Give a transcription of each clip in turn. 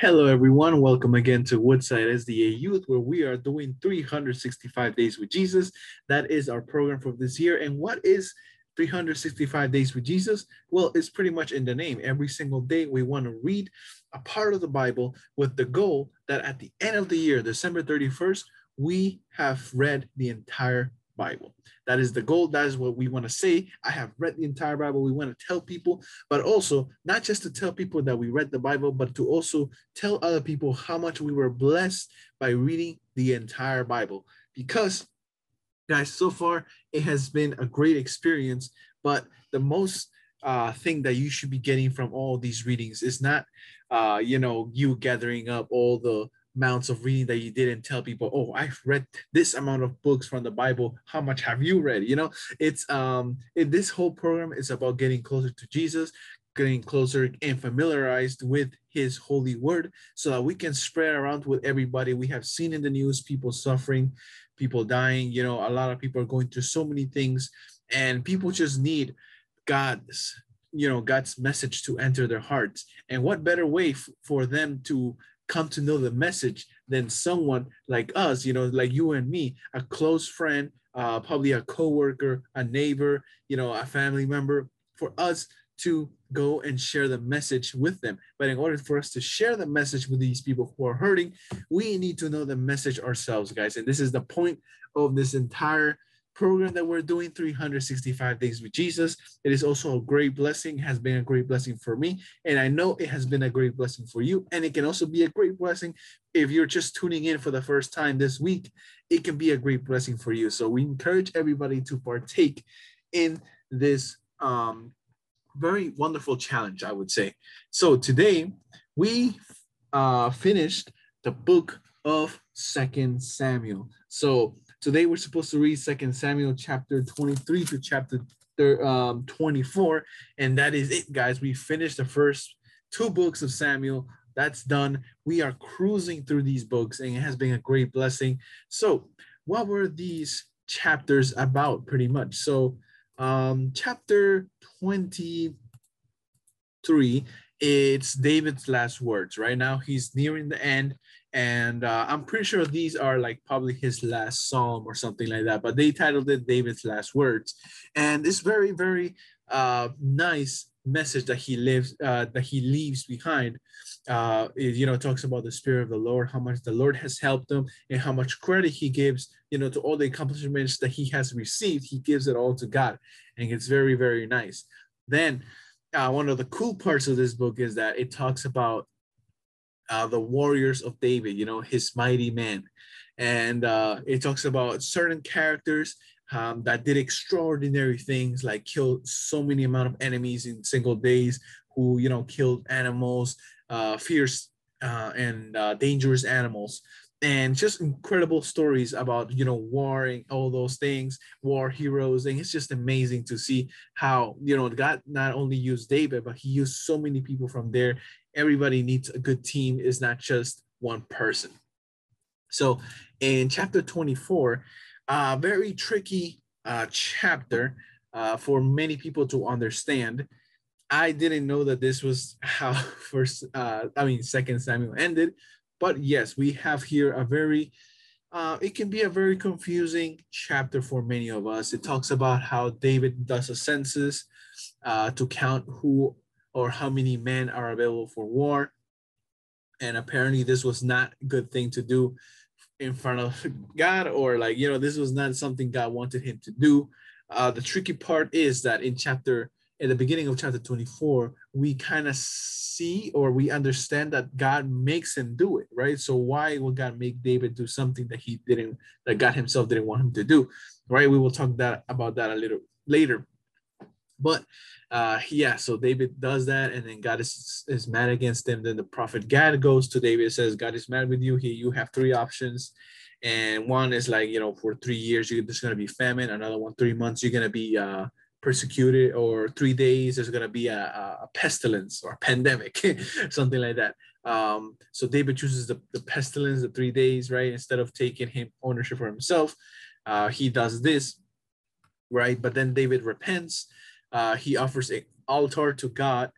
Hello, everyone. Welcome again to Woodside SDA Youth, where we are doing 365 Days with Jesus. That is our program for this year. And what is 365 Days with Jesus? Well, it's pretty much in the name. Every single day, we want to read a part of the Bible with the goal that at the end of the year, December 31st, we have read the entire Bible. That is the goal. That is what we want to say. I have read the entire Bible. We want to tell people, but also not just to tell people that we read the Bible, but to also tell other people how much we were blessed by reading the entire Bible. Because, guys, so far it has been a great experience, but the most thing that you should be getting from all these readings is not, you gathering up all the amounts of reading that you did and tell people, oh, I've read this amount of books from the Bible. How much have you read? This whole program is about getting closer to Jesus, getting closer and familiarized with his holy word so that we can spread around with everybody. We have seen in the news people suffering, people dying. A lot of people are going through so many things, and people just need God's, God's message to enter their hearts. And what better way for them to come to know the message than someone like us, like you and me, a close friend, probably a coworker, a neighbor, a family member, for us to go and share the message with them. But in order for us to share the message with these people who are hurting, we need to know the message ourselves, guys. And this is the point of this entire program that we're doing, 365 Days with Jesus. It is also a great blessing, has been a great blessing for me. And I know it has been a great blessing for you. And it can also be a great blessing if you're just tuning in for the first time this week. It can be a great blessing for you. So we encourage everybody to partake in this very wonderful challenge, I would say. So today we finished the book of Second Samuel. So today we're supposed to read Second Samuel chapter 23 to chapter 24, and that is it, guys. We finished the first two books of Samuel. That's done. We are cruising through these books, and it has been a great blessing. So, what were these chapters about, pretty much? So, chapter 23, it's David's last words. Right now, he's nearing the end, and I'm pretty sure these are like probably his last psalm or something like that. But they titled it David's Last Words, and it's very, very nice message that he leaves behind. It talks about the spirit of the Lord, how much the Lord has helped him, and how much credit he gives, to all the accomplishments that he has received. He gives it all to God, and it's very, very nice. Then one of the cool parts of this book is that it talks about the warriors of David, his mighty men. And it talks about certain characters that did extraordinary things, like killed so many amount of enemies in single days, who, killed animals, fierce and dangerous animals. And just incredible stories about, war and all those things, war heroes. And it's just amazing to see how, God not only used David, but he used so many people from there. Everybody needs a good team, is not just one person. So in chapter 24, very tricky chapter for many people to understand. I didn't know that this was how Second Samuel ended, but yes, we have here a very it can be a very confusing chapter for many of us. It talks about how David does a census to count who or how many men are available for war. And apparently this was not a good thing to do in front of God, or this was not something God wanted him to do. The tricky part is that in the beginning of chapter 24, we kind of see, or we understand, that God makes him do it, right? So why would God make David do something that God himself didn't want him to do, right? We will talk about that a little later. But so David does that, and then God is mad against him. Then the prophet Gad goes to David and says, God is mad with you. Here you have three options. And one is for 3 years, there's going to be famine. Another one, 3 months, you're going to be persecuted, or 3 days, there's going to be a pestilence or a pandemic, something like that. So David chooses the pestilence, the 3 days, right? Instead of taking ownership for himself, he does this, right? But then David repents. He offers an altar to God,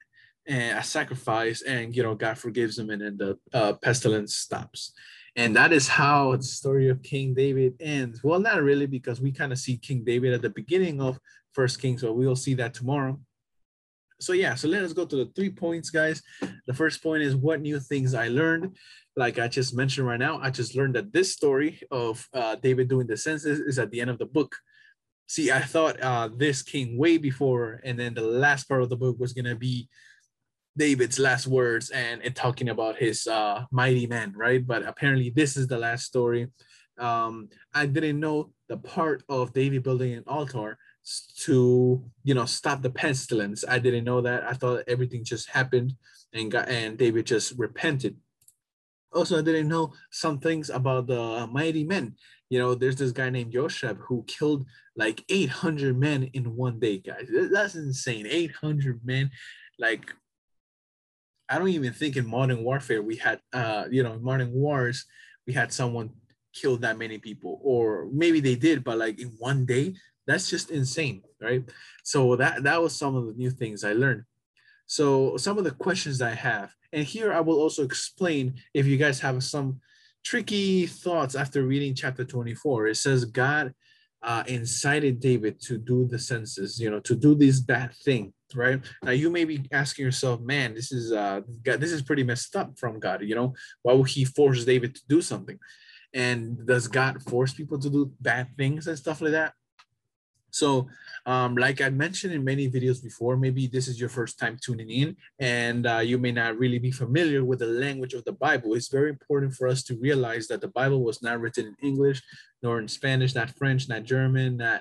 and a sacrifice, and God forgives him, and then the pestilence stops. And that is how the story of King David ends. Well, not really, because we kind of see King David at the beginning of First Kings, so we'll see that tomorrow. So yeah, so let us go to the 3 points, guys. The first point is what new things I learned. Like I just mentioned right now, I just learned that this story of David doing the census is at the end of the book. See, I thought this came way before, and then the last part of the book was gonna be David's last words and talking about his mighty men, right? But apparently, this is the last story. I didn't know the part of David building an altar to stop the pestilence. I didn't know that. I thought everything just happened and David just repented. Also, I didn't know some things about the mighty men. There's this guy named Josheb who killed like 800 men in one day, guys. That's insane. 800 men. Like, I don't even think in modern warfare we had, in modern wars, we had someone kill that many people, or maybe they did, but like in one day, that's just insane, right? So that was some of the new things I learned. So some of the questions I have, and here I will also explain if you guys have some tricky thoughts after reading chapter 24. It says God incited David to do the census, to do this bad thing, right? Now you may be asking yourself, man, this is pretty messed up from God. Why would he force David to do something? And does God force people to do bad things and stuff like that? So, like I mentioned in many videos before, maybe this is your first time tuning in, and you may not really be familiar with the language of the Bible. It's very important for us to realize that the Bible was not written in English, nor in Spanish, not French, not German, not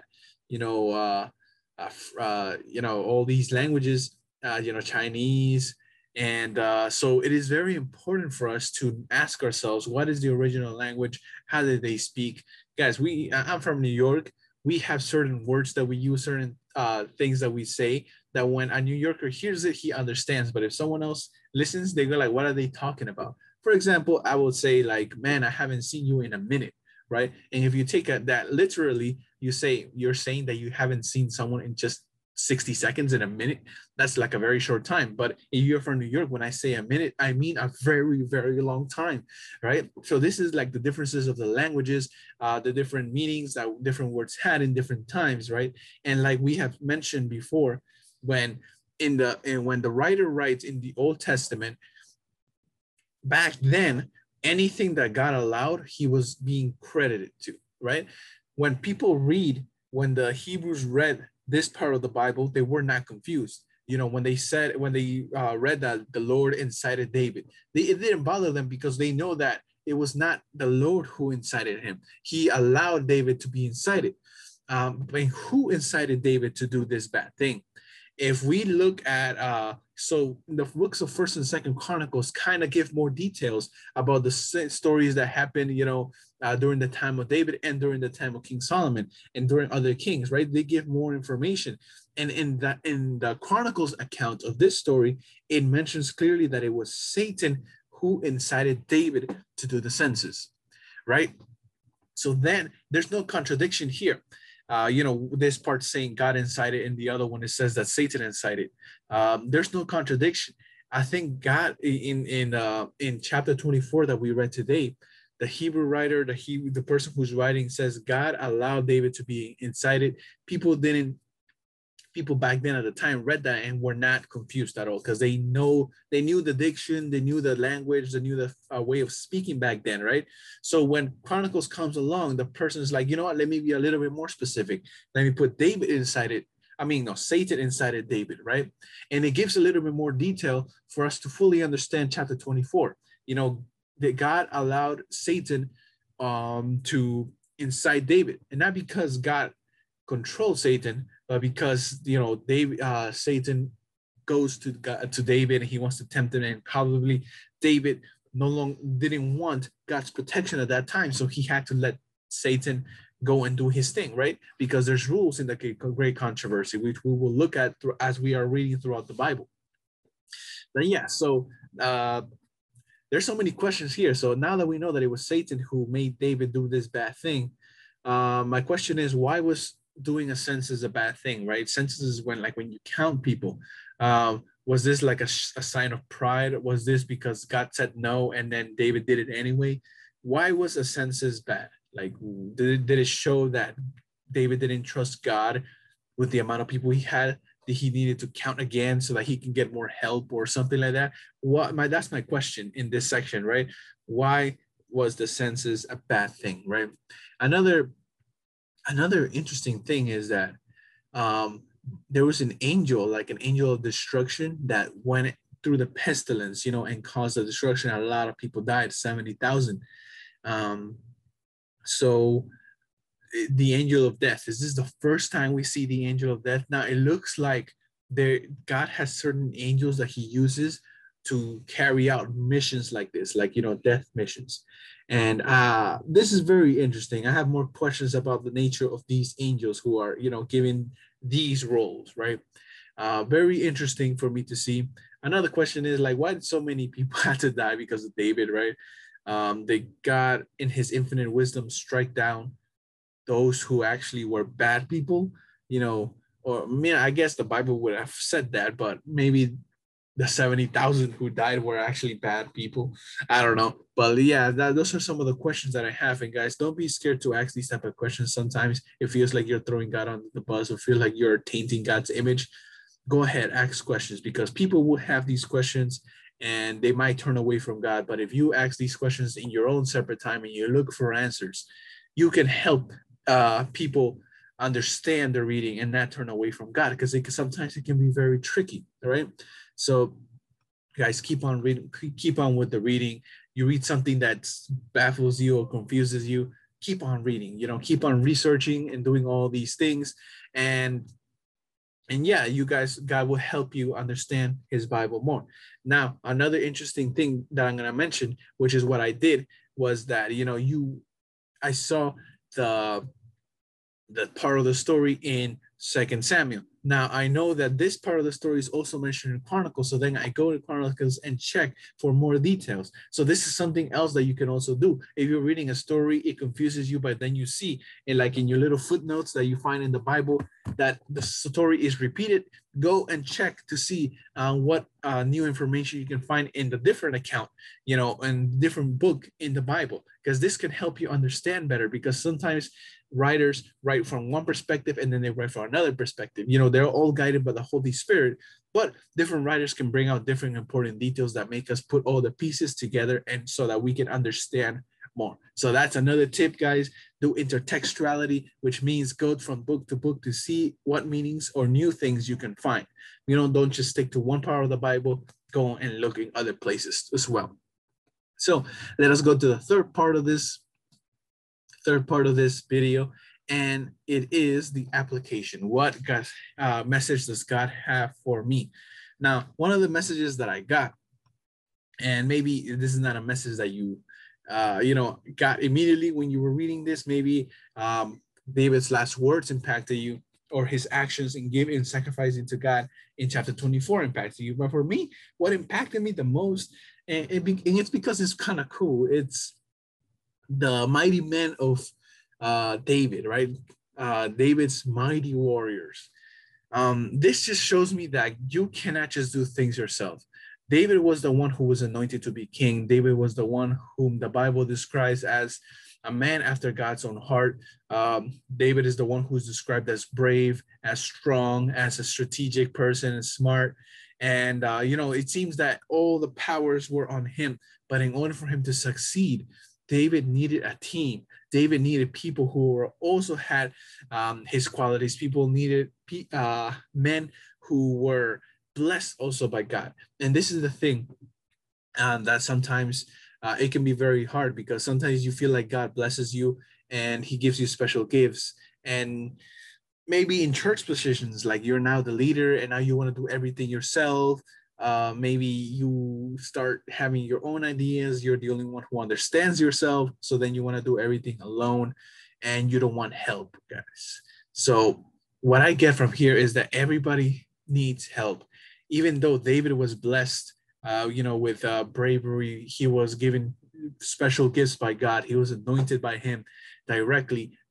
all these languages, Chinese. And so it is very important for us to ask ourselves, what is the original language? How did they speak? Guys, I'm from New York. We have certain words that we use, certain things that we say, that when a New Yorker hears it, he understands. But if someone else listens, they go like, what are they talking about? For example, I will say like, man, I haven't seen you in a minute, right? And if you take that literally, you're saying that you haven't seen someone in just 60 seconds in a minute. That's like a very short time. But if you're from New York, when I say a minute, I mean a very, very long time, right? So this is like the differences of the languages, the different meanings that different words had in different times, right? And like we have mentioned before, when when the writer writes in the Old Testament, back then, anything that God allowed, he was being credited to, right? When the Hebrews read this part of the Bible, they were not confused. When they read that the Lord incited David, it didn't bother them, because they know that it was not the Lord who incited him. He allowed David to be incited. But who incited David to do this bad thing? If we look at so the books of First and Second Chronicles kind of give more details about the stories that happened, during the time of David and during the time of King Solomon and during other kings, right? They give more information. And in the Chronicles account of this story, it mentions clearly that it was Satan who incited David to do the census, right? So then there's no contradiction here. This part saying God incited, and the other one it says that Satan incited. There's no contradiction. I think God in chapter 24 that we read today, the Hebrew writer, the person who's writing says God allowed David to be incited. People back then at the time read that and were not confused at all, because they knew the diction, they knew the language, they knew the way of speaking back then, right? So when Chronicles comes along, the person is like, you know what, let me be a little bit more specific. Let me put David inside it. Satan incited David, right? And it gives a little bit more detail for us to fully understand chapter 24. That God allowed Satan to incite David, and not because God controlled Satan, but because Satan goes to David and he wants to tempt him, and probably David no longer didn't want God's protection at that time, so he had to let Satan go and do his thing, right? Because there's rules in the great controversy, which we will look at as we are reading throughout the Bible. Then so there's so many questions here. So now that we know that it was Satan who made David do this bad thing, my question is, why was doing a census a bad thing, right? Census is when you count people. Was this like a sign of pride? Was this because God said no and then David did it anyway? Why was a census bad? Like, did it show that David didn't trust God with the amount of people he had? That he needed to count again so that he can get more help or something like that? That's my question in this section, right? Why was the census a bad thing, right? Another interesting thing is that um, there was an angel, like an angel of destruction, that went through the pestilence, and caused the destruction. A lot of people died, 70,000. Um, so the angel of death, is this the first time we see the angel of death? Now it looks like God has certain angels that he uses to carry out missions like this, like death missions. And this is very interesting. I have more questions about the nature of these angels who are given these roles, right? Very interesting for me to see. Another question is, like, why did so many people have to die because of David, right? They God in his infinite wisdom strike down those who actually were bad people, or I guess the Bible would have said that, but maybe the 70,000 who died were actually bad people. I don't know. But yeah, those are some of the questions that I have. And guys, don't be scared to ask these type of questions. Sometimes it feels like you're throwing God under the bus or feel like you're tainting God's image. Go ahead, ask questions, because people will have these questions and they might turn away from God. But if you ask these questions in your own separate time and you look for answers, you can help people understand the reading and not turn away from God, because sometimes it can be very tricky, all right? So guys, keep on reading, keep on with the reading. You read something that baffles you or confuses you, keep on reading, keep on researching and doing all these things. And yeah, you guys, God will help you understand his Bible more. Now, another interesting thing that I'm going to mention, which is what I did, was that, I saw the part of the story in Second Samuel. Now I know that this part of the story is also mentioned in Chronicles, so then I go to Chronicles and check for more details. So this is something else that you can also do. If you're reading a story, it confuses you, but then you see, like in your little footnotes that you find in the Bible, that the story is repeated. Go and check to see what new information you can find in the different account, and different book in the Bible, because this can help you understand better. Because sometimes writers write from one perspective and then they write from another perspective. They're all guided by the Holy Spirit, but different writers can bring out different important details that make us put all the pieces together, and so that we can understand more. So that's another tip, guys. Do intertextuality, which means go from book to book to see what meanings or new things you can find. Don't just stick to one part of the Bible. Go and look in other places as well. So let us go to the third part of this video, and it is the application. What message does God have for me? Now, one of the messages that I got, and maybe this is not a message that you got immediately when you were reading this. Maybe David's last words impacted you, or his actions in giving and sacrificing to God in chapter 24 impacted you. But for me, what impacted me the most, and it's because it's kind of cool. It's the mighty men of David, right? David's mighty warriors. This just shows me that you cannot just do things yourself. David was the one who was anointed to be king. David was the one whom the Bible describes as a man after God's own heart. David is the one who's described as brave, as strong, as a strategic person, and smart. And, it seems that all the powers were on him. But in order for him to succeed, David needed a team. David needed people who also had his qualities. People needed men who were blessed also by God. And this is the thing that sometimes it can be very hard, because sometimes you feel like God blesses you and he gives you special gifts. And maybe in church positions, like you're now the leader and now you want to do everything yourself. Maybe you start having your own ideas. You're the only one who understands yourself. So then you want to do everything alone and you don't want help, guys. So what I get from here is that everybody needs help. Even though David was blessed, with bravery, he was given special gifts by God. He was anointed by him directly.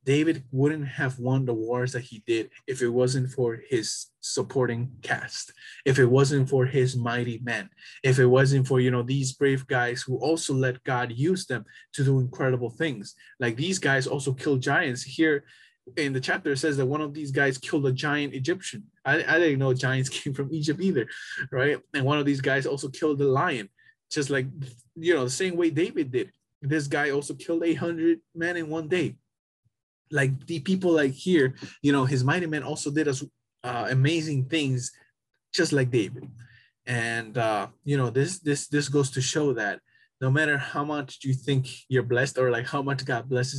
David wouldn't have won the wars that he did if it wasn't for his supporting cast, if it wasn't for his mighty men, if it wasn't for, these brave guys who also let God use them to do incredible things. Like these guys also killed giants. Here in the chapter, it says that one of these guys killed a giant Egyptian. I didn't know giants came from Egypt either, right? And one of these guys also killed a lion, just like, the same way David did. This guy also killed 800 men in one day. Like the people like here, his mighty men also did us amazing things, just like David. And this goes to show that no matter how much you think you're blessed, or like how much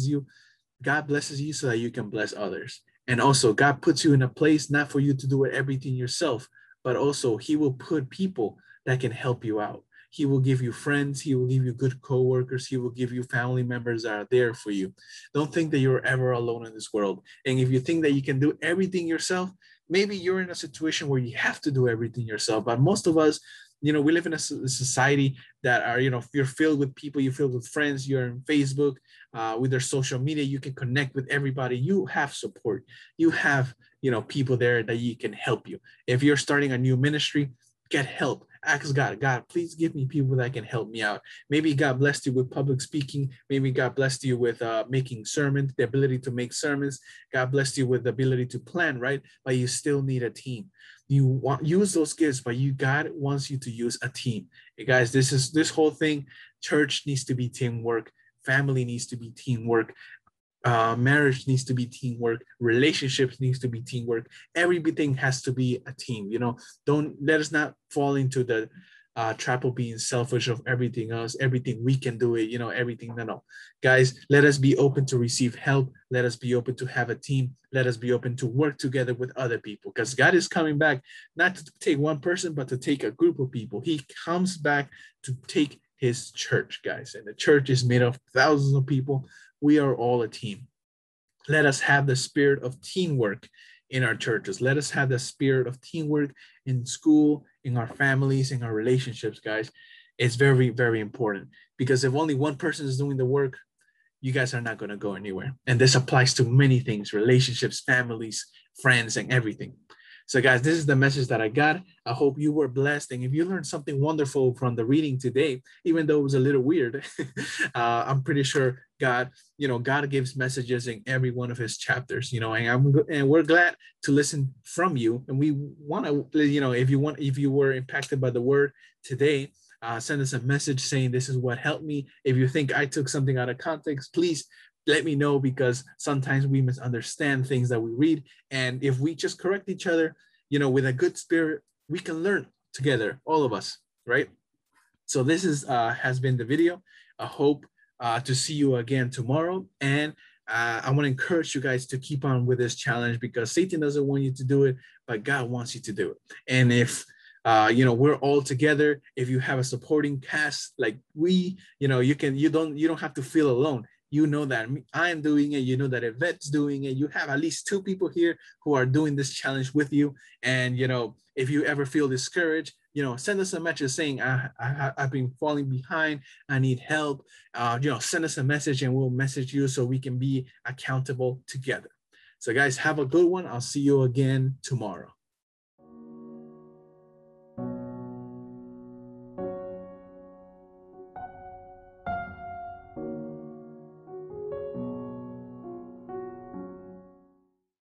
God blesses you so that you can bless others. And also God puts you in a place not for you to do everything yourself, but also he will put people that can help you out. He will give you friends. He will give you good coworkers. He will give you family members that are there for you. Don't think that you're ever alone in this world. And if you think that you can do everything yourself, maybe you're in a situation where you have to do everything yourself. But most of us, we live in a society that are, you're filled with people, you're filled with friends, you're on Facebook, with their social media, you can connect with everybody. You have support. You have, people there that you can help you. If you're starting a new ministry, get help. Ask God, please give me people that can help me out. Maybe God blessed you with public speaking. Maybe God blessed you with making sermons, the ability to make sermons. God blessed you with the ability to plan, right? But you still need a team. You want use those gifts, but God wants you to use a team. Hey guys, this whole thing. Church needs to be teamwork. Family needs to be teamwork. Marriage needs to be teamwork. Relationships needs to be teamwork. Everything has to be a team. Don't let us not fall into the trap of being selfish of everything else. Everything we can do it. Everything. No, guys. Let us be open to receive help. Let us be open to have a team. Let us be open to work together with other people. Because God is coming back not to take one person, but to take a group of people. He comes back to take his church, guys, and the church is made of thousands of people. We are all a team. Let us have the spirit of teamwork in our churches. Let us have the spirit of teamwork in school, in our families, in our relationships, guys. It's very, very important, because if only one person is doing the work, you guys are not going to go anywhere. And this applies to many things: relationships, families, friends, and everything. So guys, this is the message that I got. I hope you were blessed. And if you learned something wonderful from the reading today, even though it was a little weird, I'm pretty sure God gives messages in every one of his chapters, and we're glad to listen from you. And we want to, if you were impacted by the word today, send us a message saying this is what helped me. If you think I took something out of context, please let me know, because sometimes we misunderstand things that we read. And if we just correct each other, with a good spirit, we can learn together, all of us, right? So this has been the video. I hope to see you again tomorrow. And I want to encourage you guys to keep on with this challenge, because Satan doesn't want you to do it, but God wants you to do it. And if we're all together, if you have a supporting cast like we, you don't have to feel alone. You know that I'm doing it. You know that Yvette's doing it. You have at least 2 people here who are doing this challenge with you. And, if you ever feel discouraged, send us a message saying, I've been falling behind. I need help. Send us a message and we'll message you so we can be accountable together. So guys, have a good one. I'll see you again tomorrow.